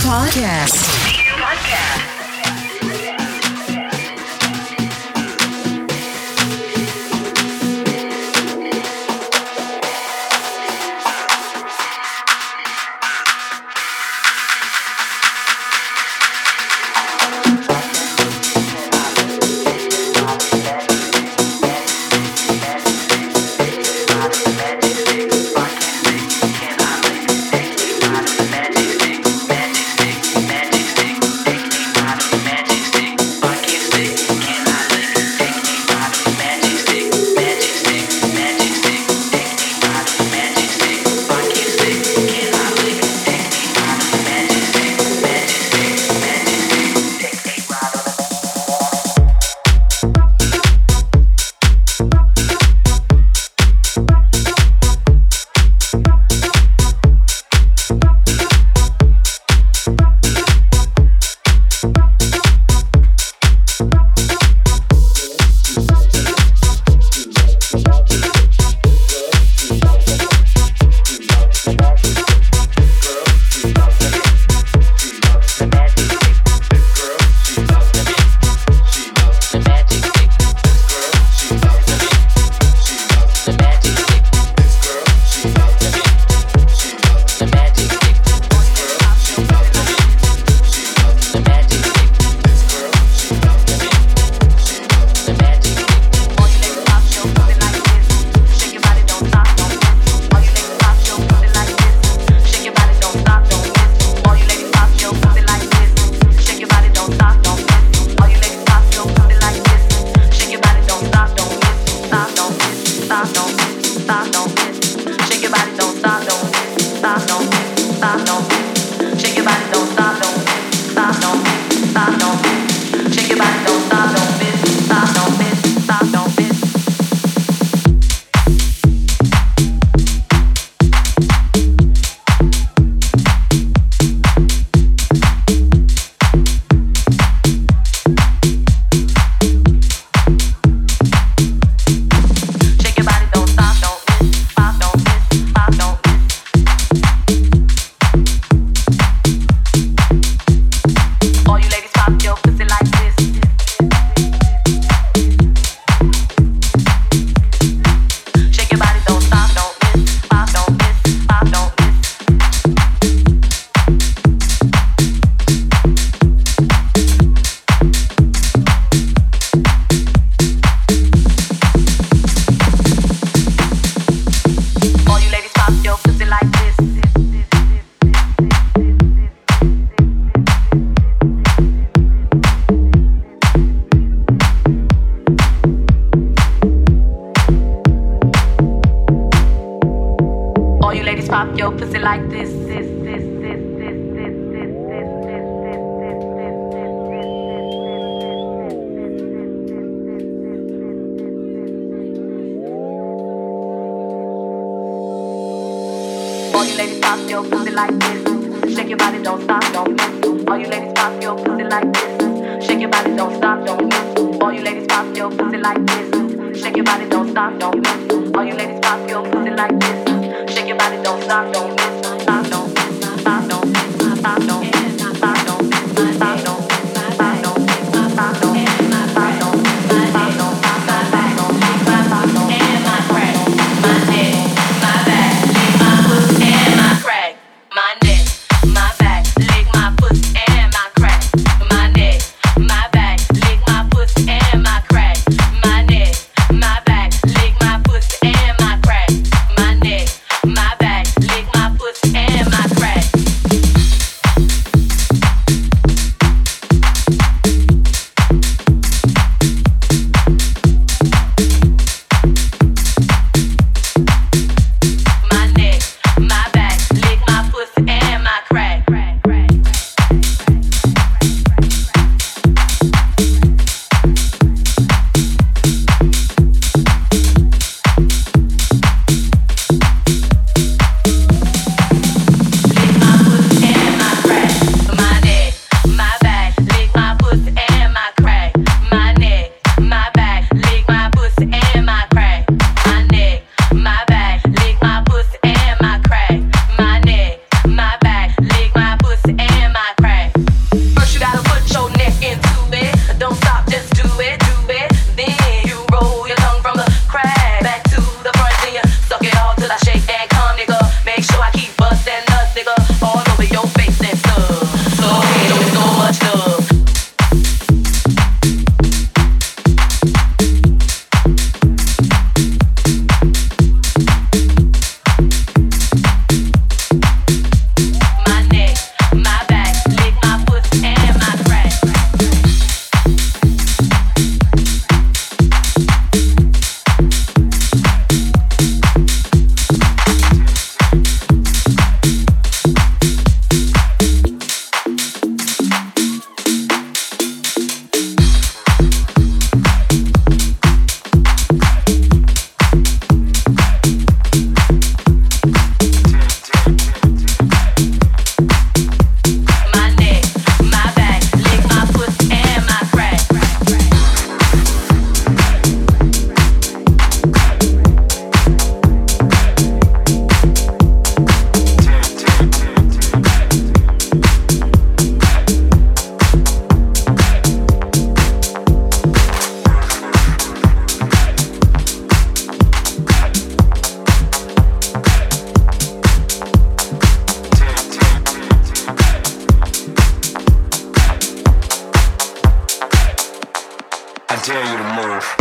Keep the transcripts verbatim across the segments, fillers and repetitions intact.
Podcast. dare you to move.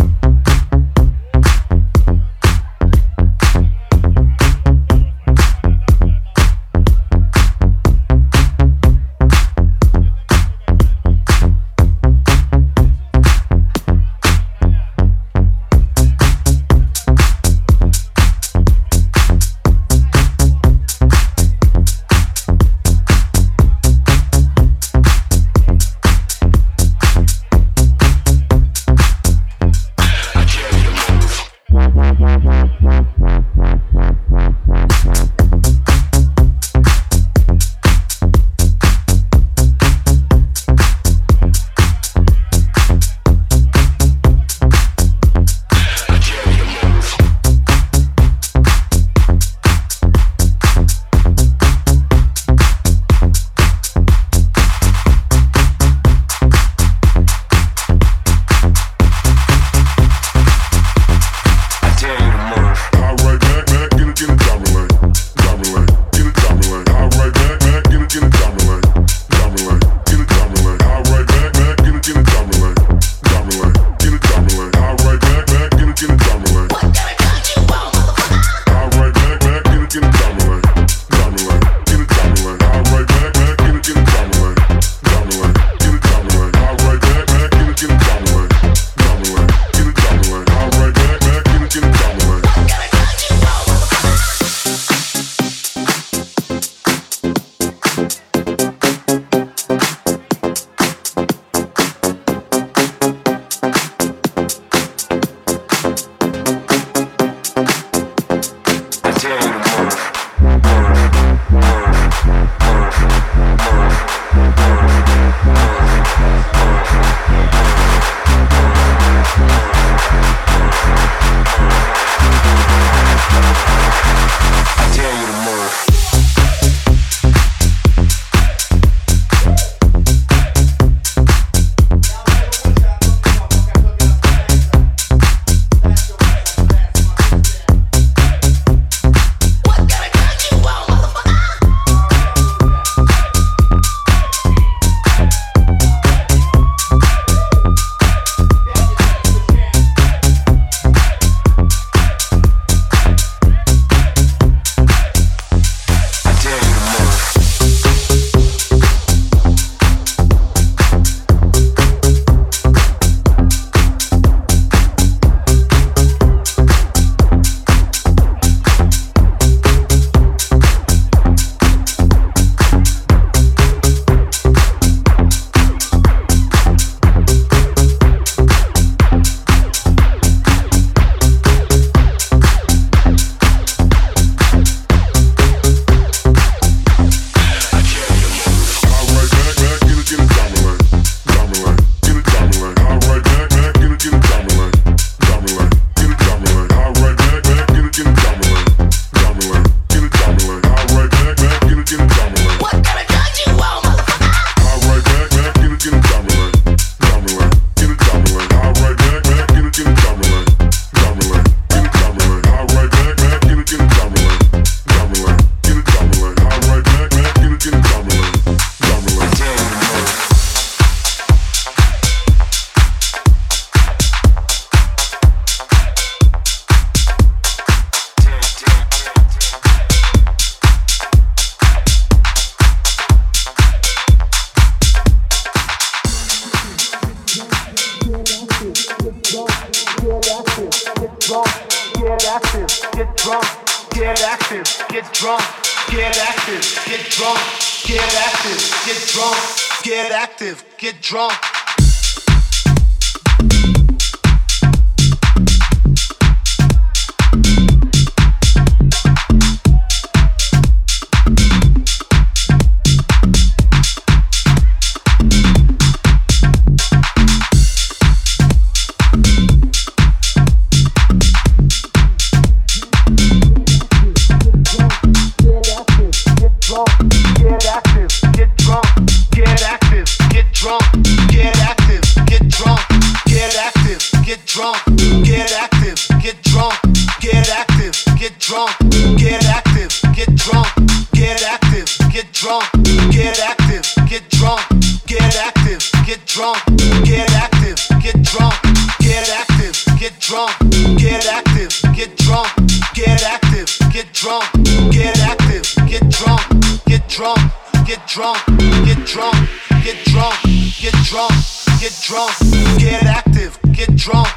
Get drunk. Get active, get drunk, get active, get drunk, drunk, get active, get drunk, get active, get drunk, get active, get drunk, get drunk, get drunk, get drunk, get drunk, get drunk, get drunk, get active, get drunk.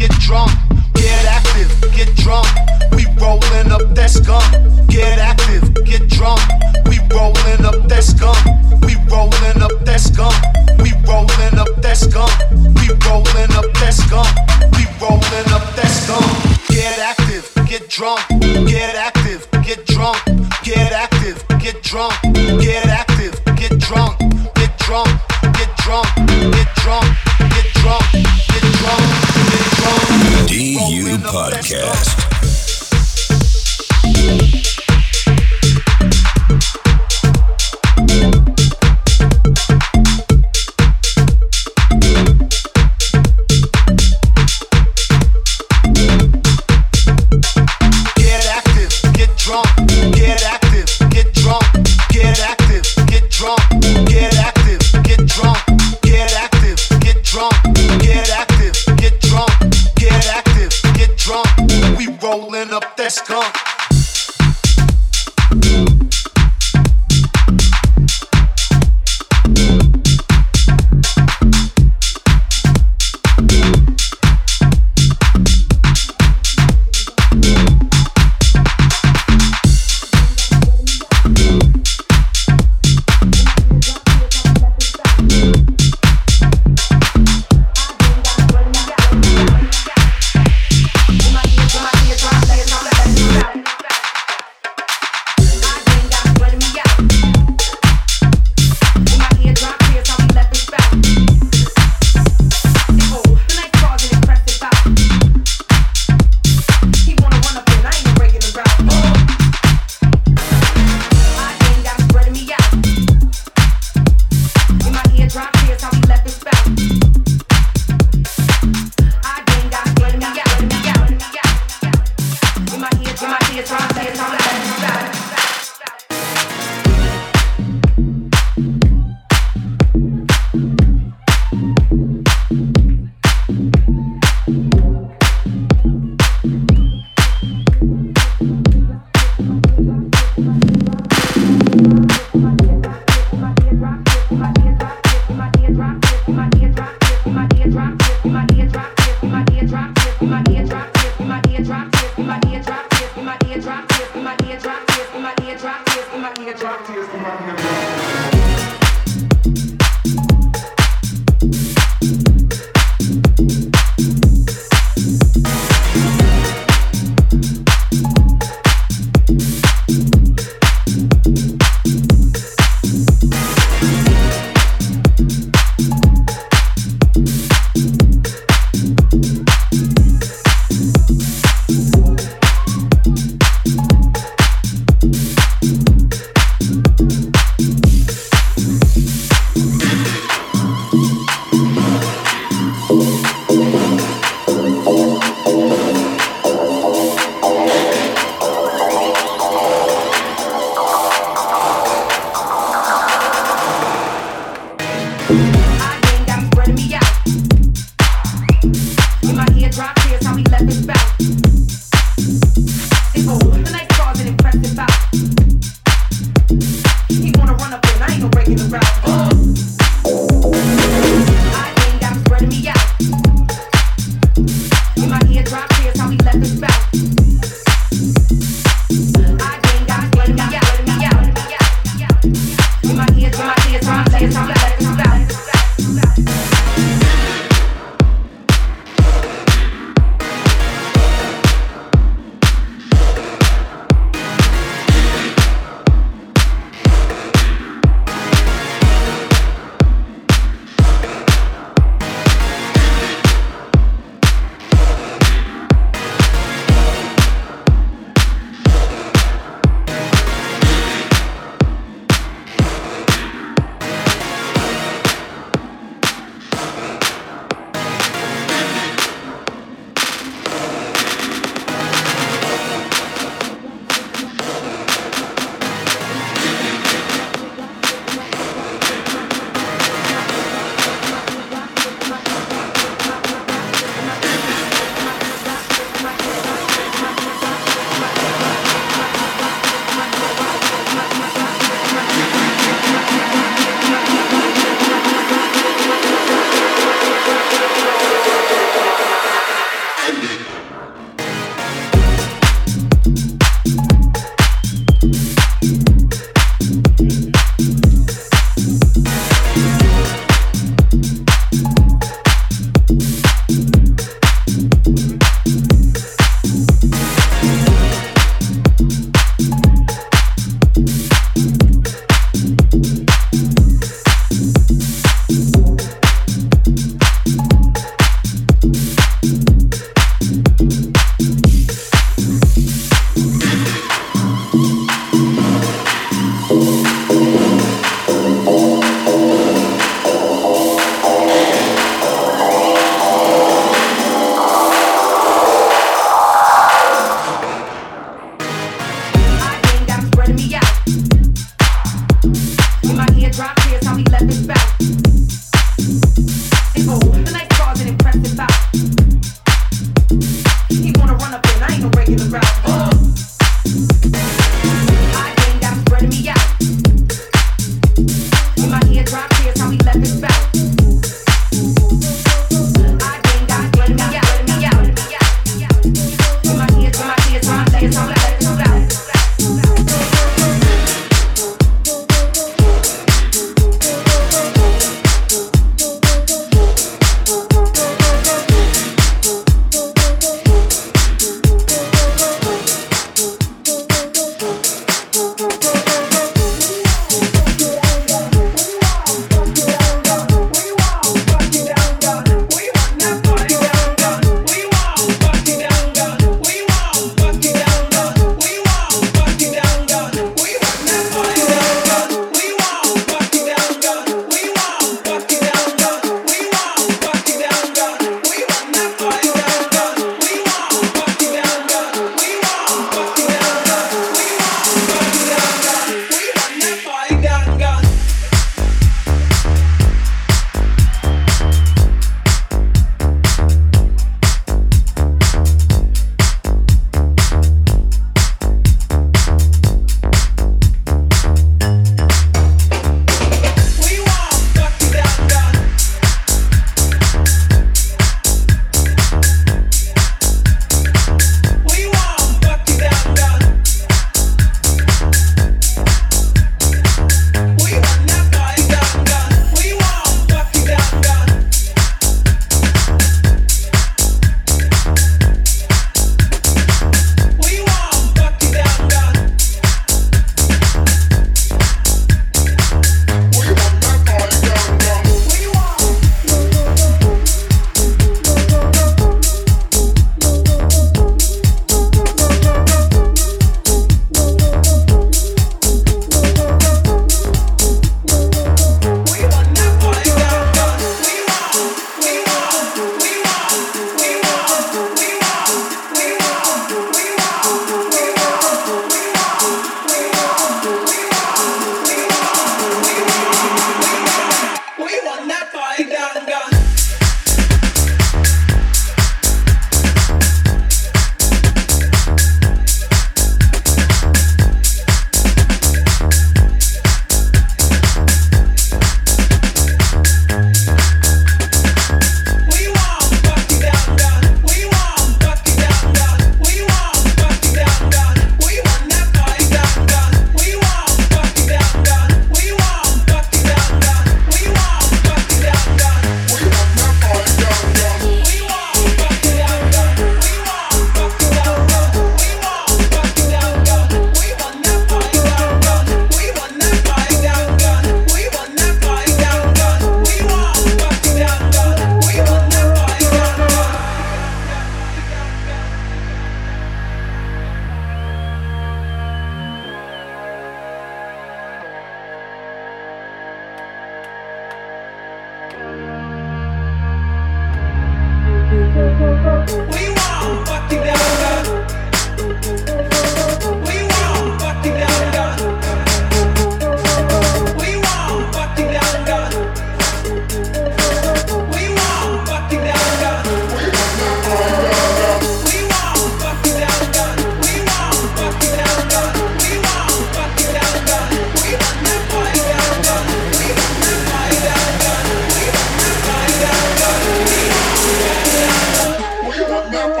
Now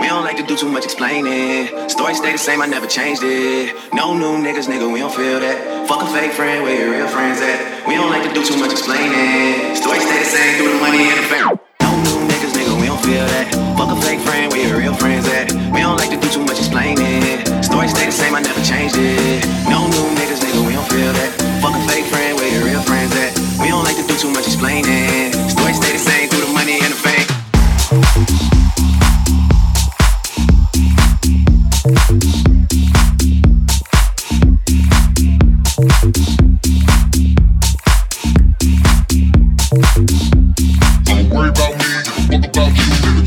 don't like to do too much explaining. Story stay the same, I never changed it. No new niggas, nigga, we don't feel that. Fuck a fake friend, where your real friends at? We don't like to do too much explaining. Story stay the same, through the money and the fame. No new niggas, nigga, we don't feel that. Fuck a fake friend, where your real friends at? We don't like to do too much explaining. Story stay the same, I never changed it. No new niggas, nigga, we don't feel that. Fuck a fake friend, where your real friends at? We don't like to do too much explaining. Story stay the same, through the money and the fame. Don't worry about me, fuck about you, nigga.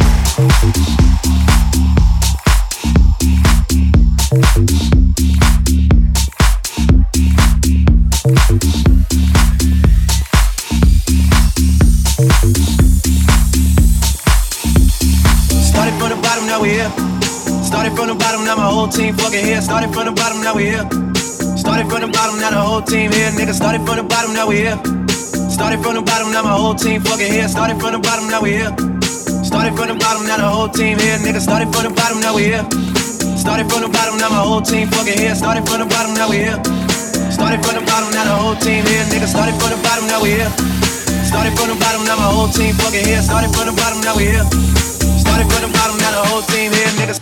Started from the bottom, now we here. Started from the bottom, now my whole team fucking here. Started from the bottom, now we here. Started from the bottom, now the whole team here. Nigga, started from the bottom, now we here. Started from the bottom, now my whole team fucking here. Started from the bottom, now we here. Started from the bottom, now the whole team here. Nigga, started from the bottom, now we here. Started from the bottom, now my whole team fucking here. Started from the bottom, now we here. Started from the bottom, now the whole team here. Nigga, started from the bottom, now we here. Started from the bottom, now my whole team fucking here. Started from the bottom, now we here. Started from the bottom, now the whole team here, niggas.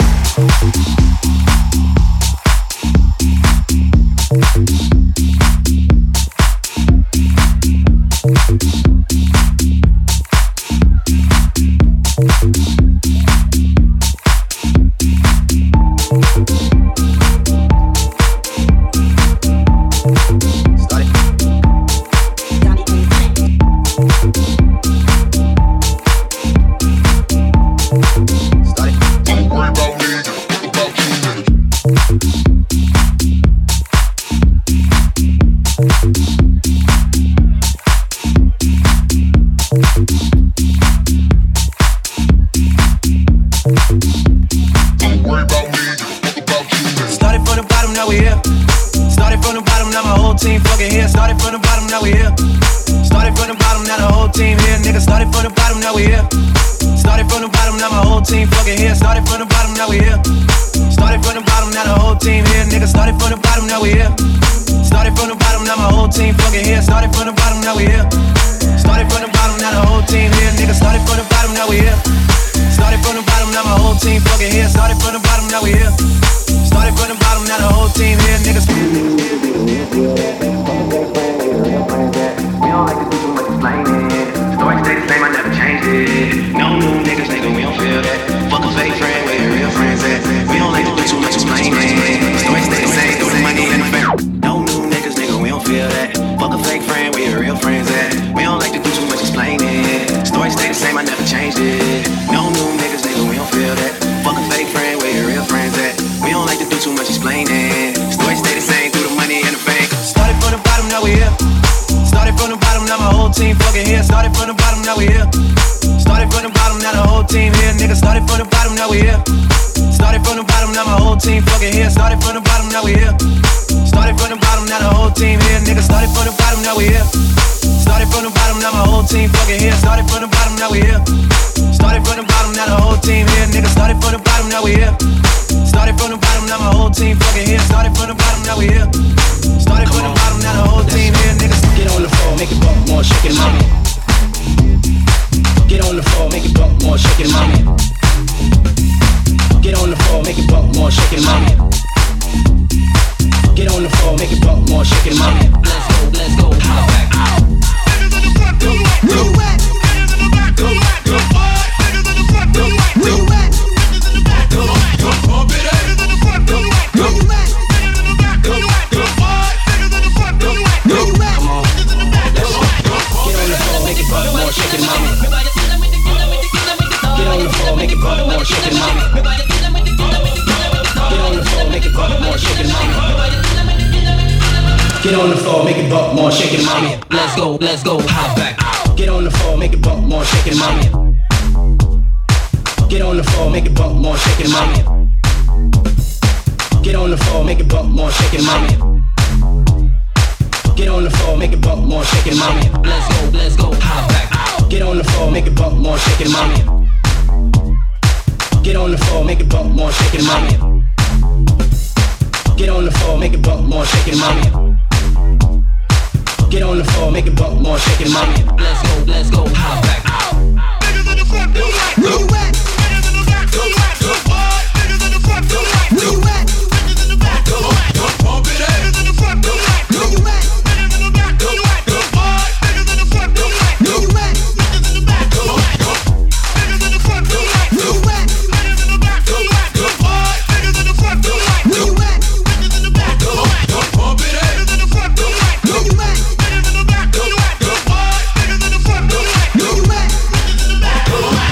Get on the floor, make it bump more, shake it, mommy. Let's go, let's go, hop back. Get on the floor, make it bump more, shake it, mommy. Get on the floor, make it bump more, shake it, mommy. Get on the floor, make it bump more, shake it, mommy. Get on the floor, make it bump more, shake it, mommy. Let's go, let's go, hop back. Get on the floor, make it bump more, shake it, mommy. Get Get on the floor, make it bump more, shake it, mommy. Get on the floor, make it bump more, shake it, mommy. Get on the floor, make it bump more, shake it, mommy. Let's go, let's go, hop back. Niggas in the front, do like, where you at? Niggas in the back, do like, good boy. Niggas in the front, do like, where you at? Niggas in the back, do like, good pump it up. Niggas in the front, do like, where you at? Niggas in the back, do like, good boy. Niggas in the front, do like, where you at? Niggas in the back, do like, niggas in the front, do like, where you at? Niggas in the back, do like, good boy. Niggas in the front, do like, where you at? Niggas in the back, do like, pump it up. Niggas in the front, do like, where you at? Niggas in the back, do like, good boy. Niggas in the front, do like, where you at? Niggas in the back, do like.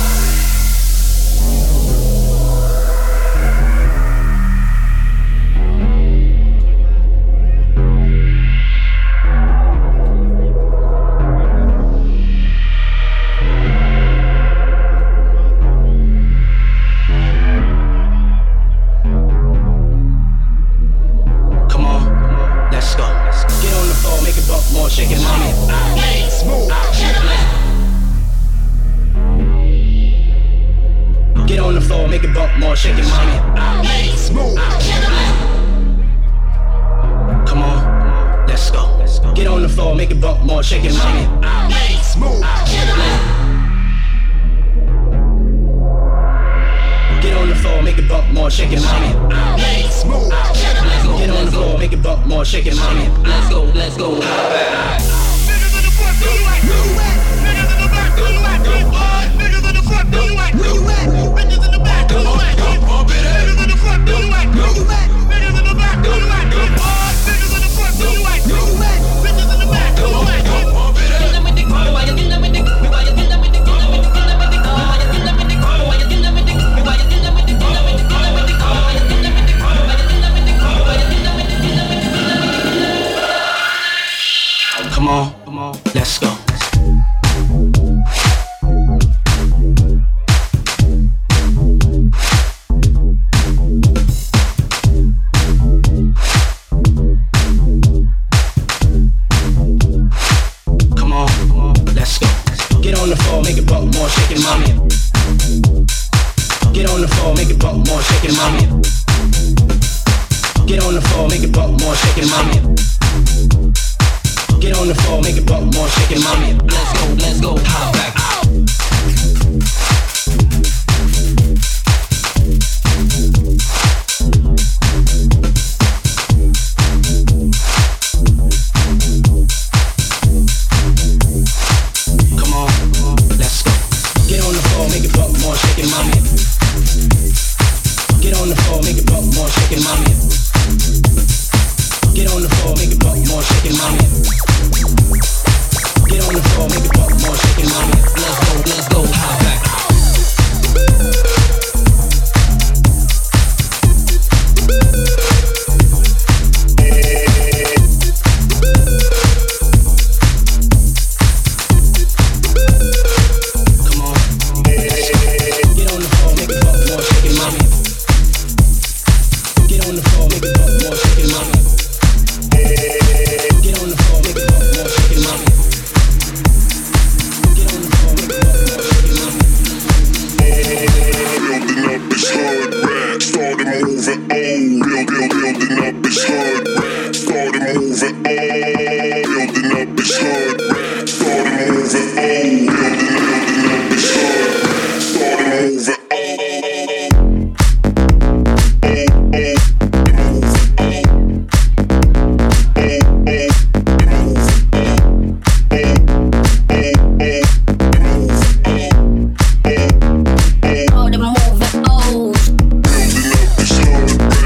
Shake it, mommy. Smooth. Get on the floor, make it bump more, shake it, mommy. Smooth. Come on, let's go. Get on the floor, make it bump more, shake it, mommy. Smooth. Get on the floor, make it bump more, shake it, mommy. Smooth. Get on the floor, make it bump more, shake it, mommy. Let's go, let's go. Niggas in the front, do you like, where you at? Niggas in the back, do you like, good boy? Niggas in the front, do you like, where you at? Niggas in the back, do you like, good pump it up. Niggas in the front, do you like, where you at? Niggas in the back, do you like, good boy? Niggas in the front, do you like, where you at? Niggas in the back, do you like, good pump it up. Come on, come on, let's go. Come on, come on, let's go. Get on the floor, make it bump more, shake it, mommy. Get on the floor, make it bump more, shake it, mommy. Get on the floor, make it bump more, shake it, mommy. Get on the floor, make it bump more, shake it, mommy. Let's go, let's go, hop back. Come on, let's go. Get on the floor, make it bump more, shake it, mommy. Get on the floor, make it bump more, shake it, mommy. Get on the floor, make it bump more, shake it, mommy. Get on the floor, make it bump more, shake it, mommy. Let's go, let's go, hop back. Come on, get on the floor, make it bump more, shake it, mommy. Get on the floor, make it bump more, shake it, mommy. Get on the floor, make it bump more, shake it, mommy. Get on the floor, make it bump more, shake it, mommy. Building up this hood rat, started moving old. Build, build, building up this hood rat, started moving old. Building up this hood rat, started moving old. Building, building up this hood rat, started moving old. Oh, the moving old. Building up this hood rat.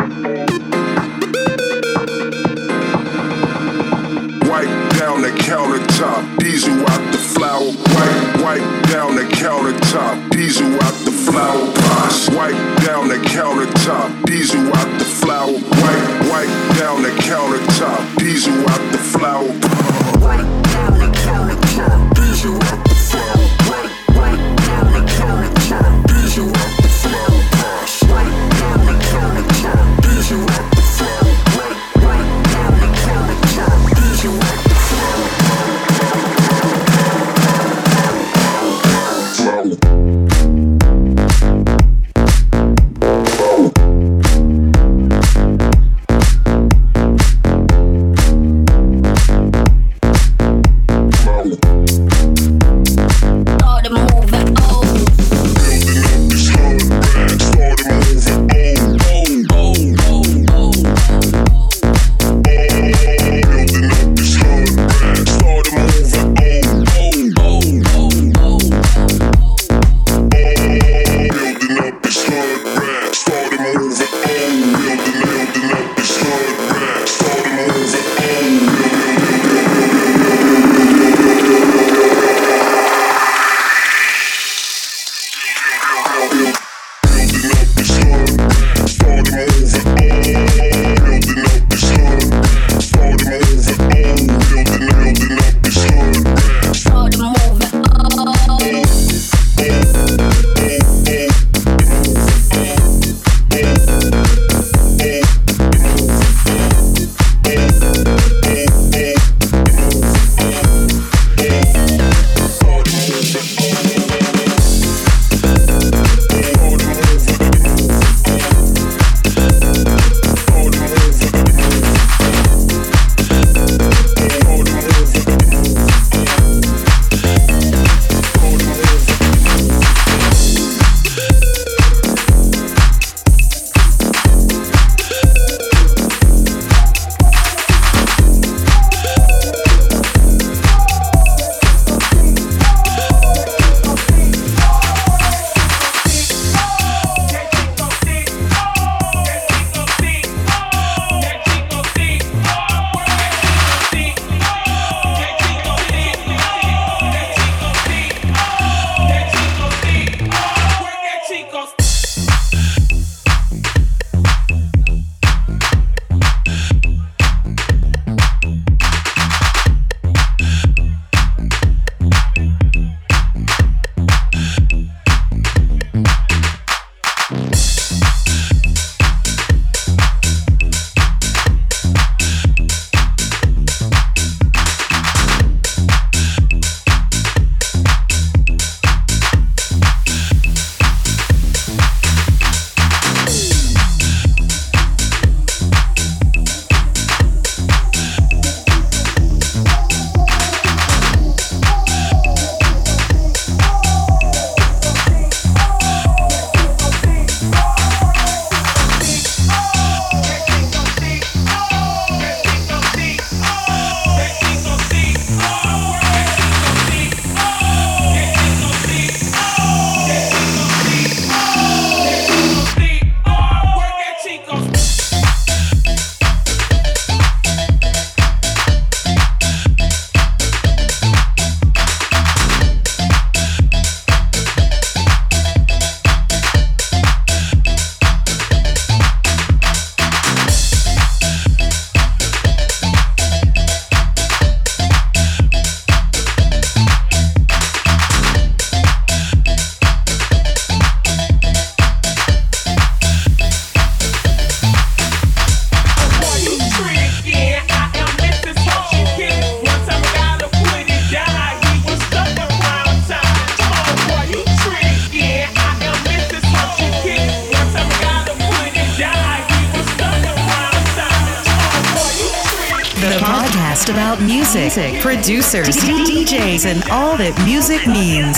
podcast about music, producers, D Js, and all that music means.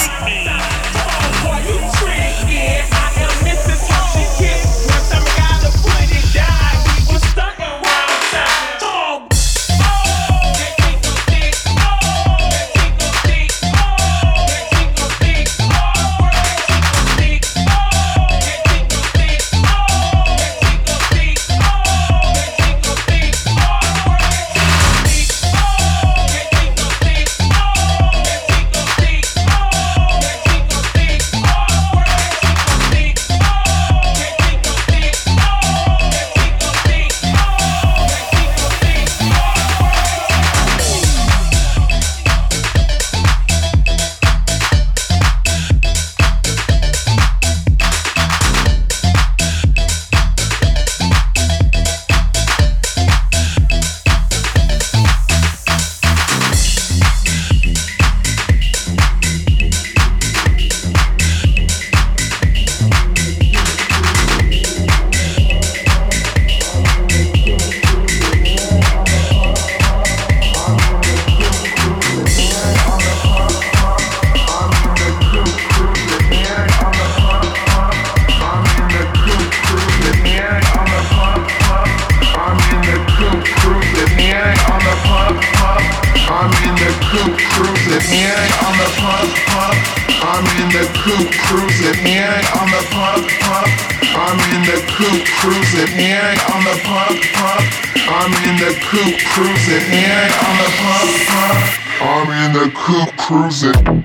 coupe cruising, hand on the pump, pump. I'm in the coupe cruising, hand on the pump, pump. I'm in the coupe cruising, hand on the pump, pump. I'm in the coupe cruising.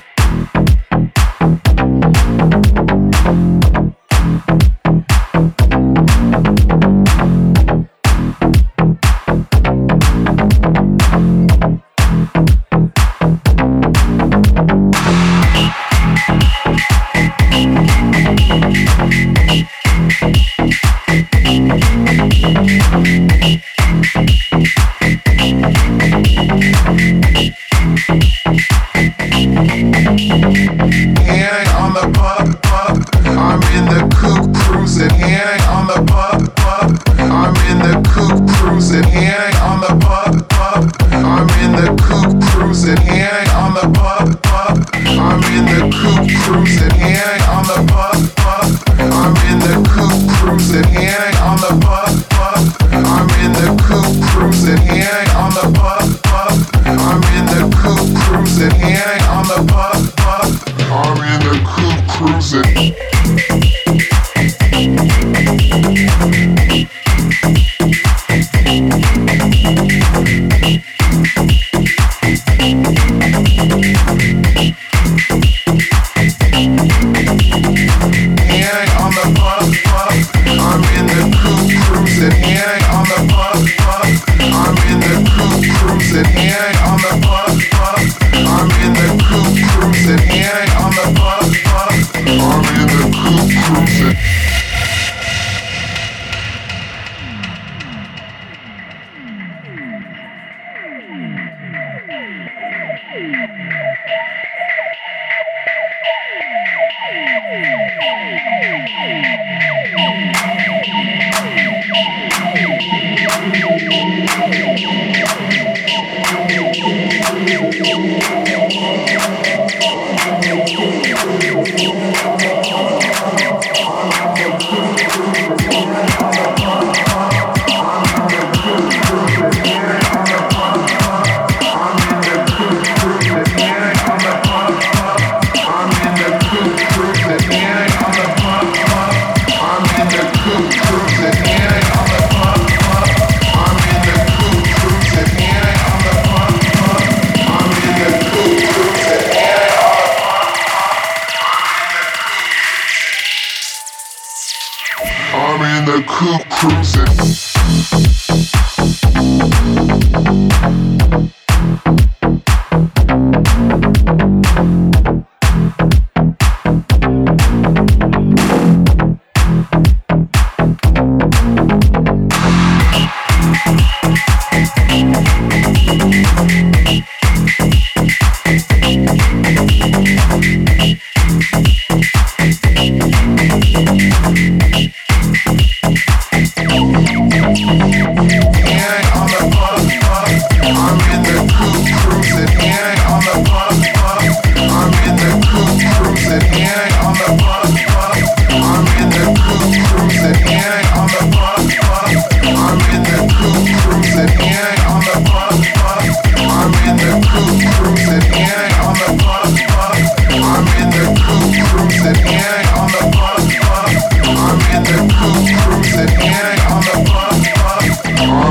I'm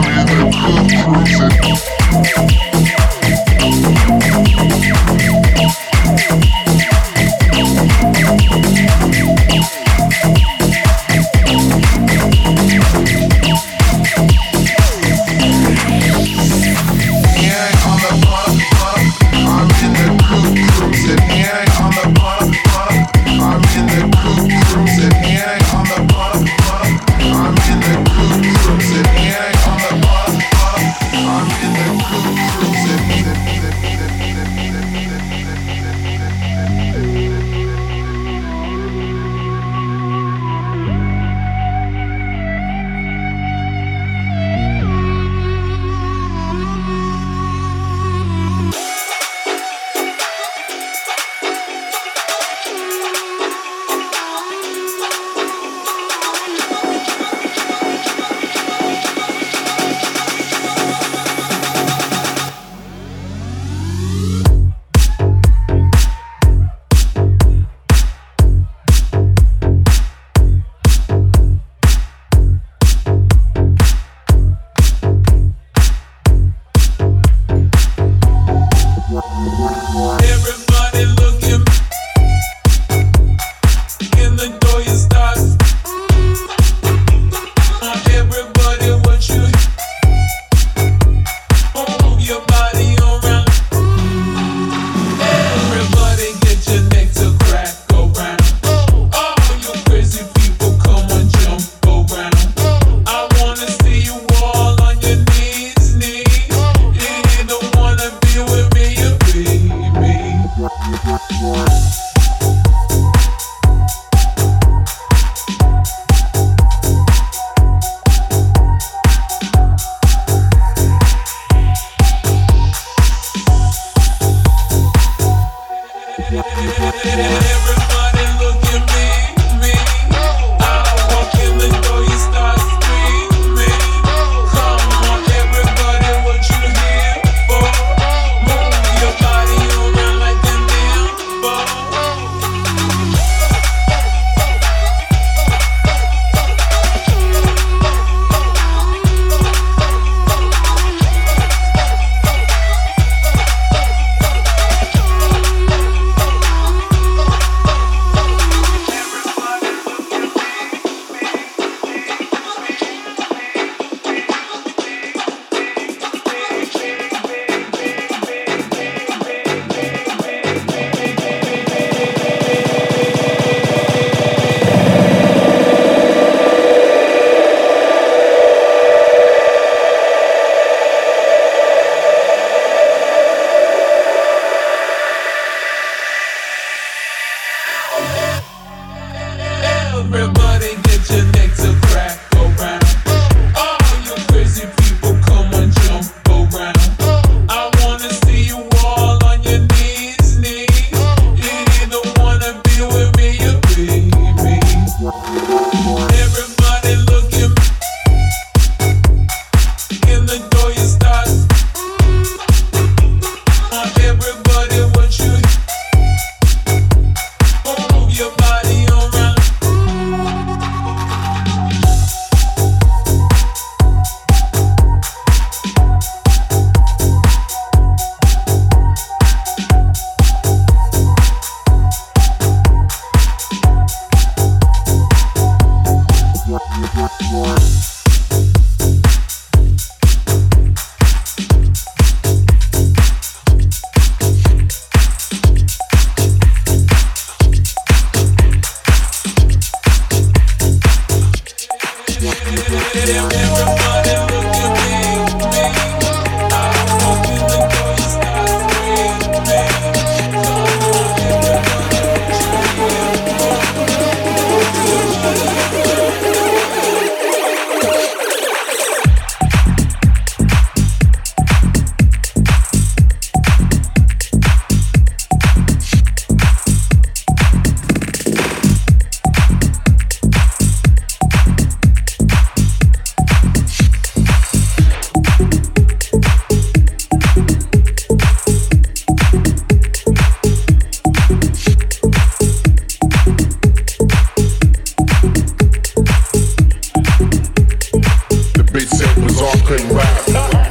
cause I couldn't rap.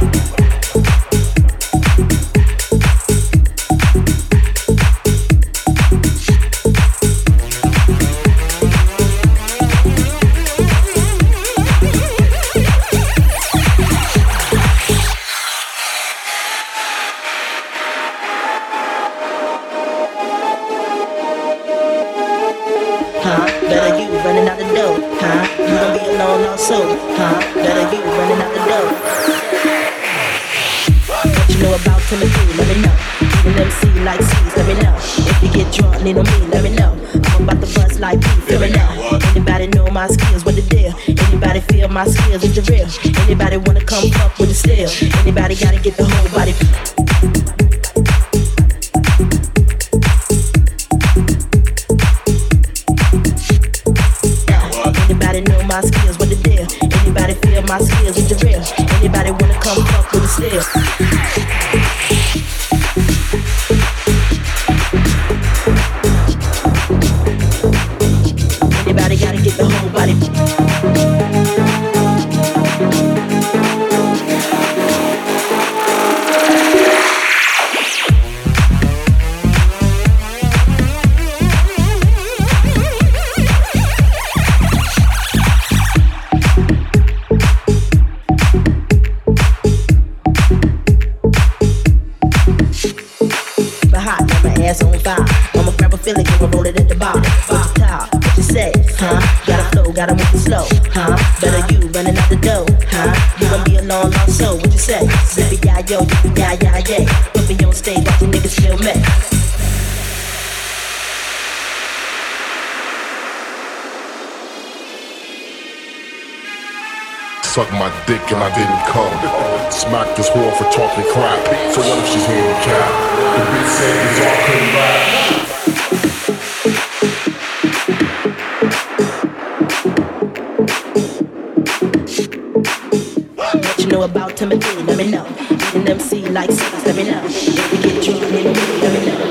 Huh? Better you running out the door, huh? You gon' be alone also, huh? Better you running out the door. What you know about Timothy, let me know. Even M C like C's, let me know. If you get drunk, need on me, let me know. I'm about to bust like me, feel me now. Anybody know my skills, what the deal? Anybody feel my skills, is it real? Anybody wanna come fuck with the steel? Anybody gotta get the whole body. Anybody know my skills, what the deal? Anybody feel my skills, is it real? Anybody wanna come fuck with the steel? Anybody gotta get the whole body. On fire. I'ma grab a feeling, I'ma roll it at the bar. Bar top, what you say, huh? Gotta flow, gotta move it slow, huh? Better you running out the door, huh? You gon' be alone, also, what you say? Zippy ya yo, yippee ya ya yeah. Put me on stage, watch the niggas feel me. Suck my dick and I didn't come. Smack this whore for talking crap. So what if she's handicapped? The bitch said it's all couldn't rap. What you know about Timothy, let me know. Eating M C like C's, let me know. If you get drunk, need on me, let me know.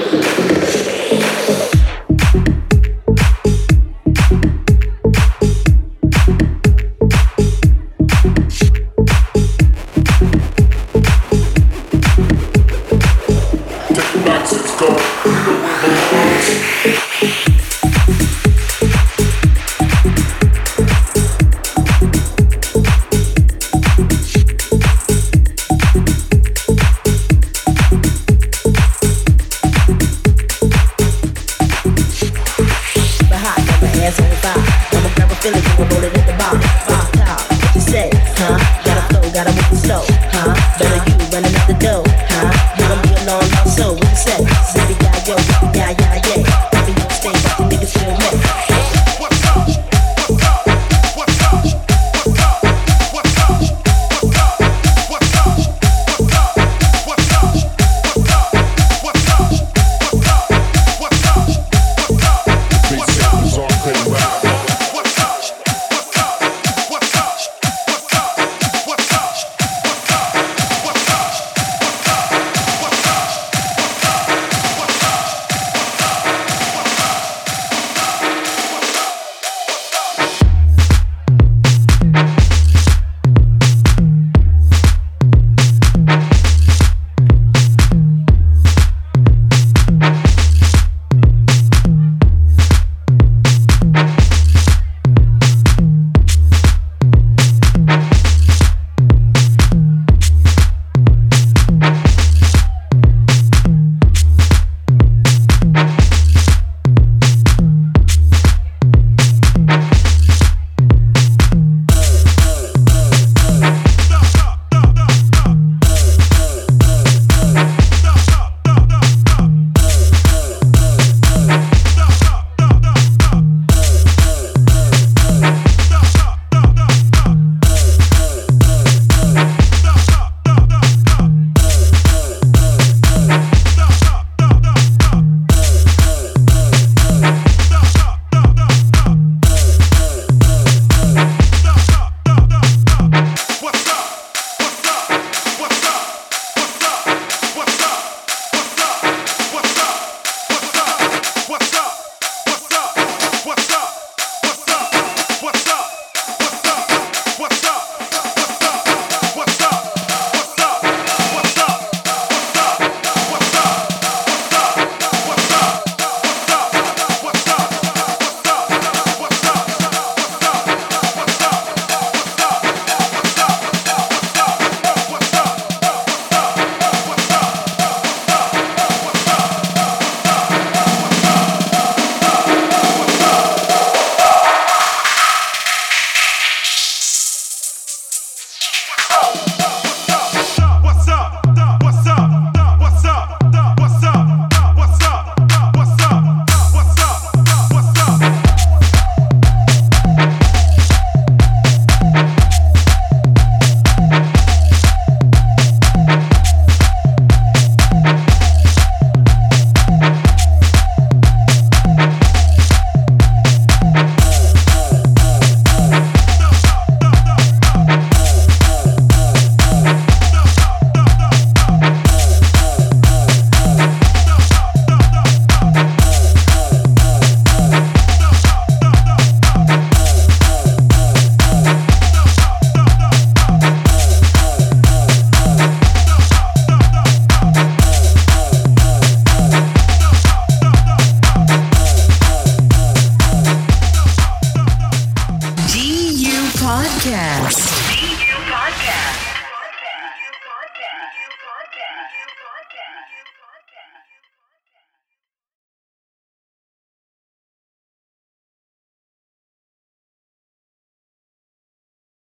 Podcast. Podcast. Podcast. Podcast. Podcast.